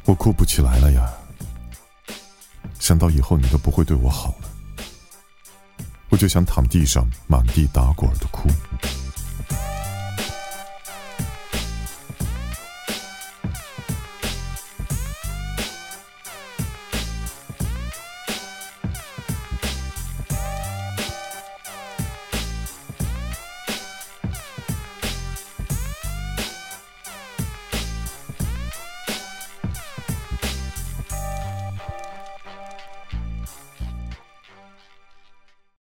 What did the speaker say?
我哭不起来了呀，想到以后你都不会对我好了，我就想躺地上满地打滚的哭。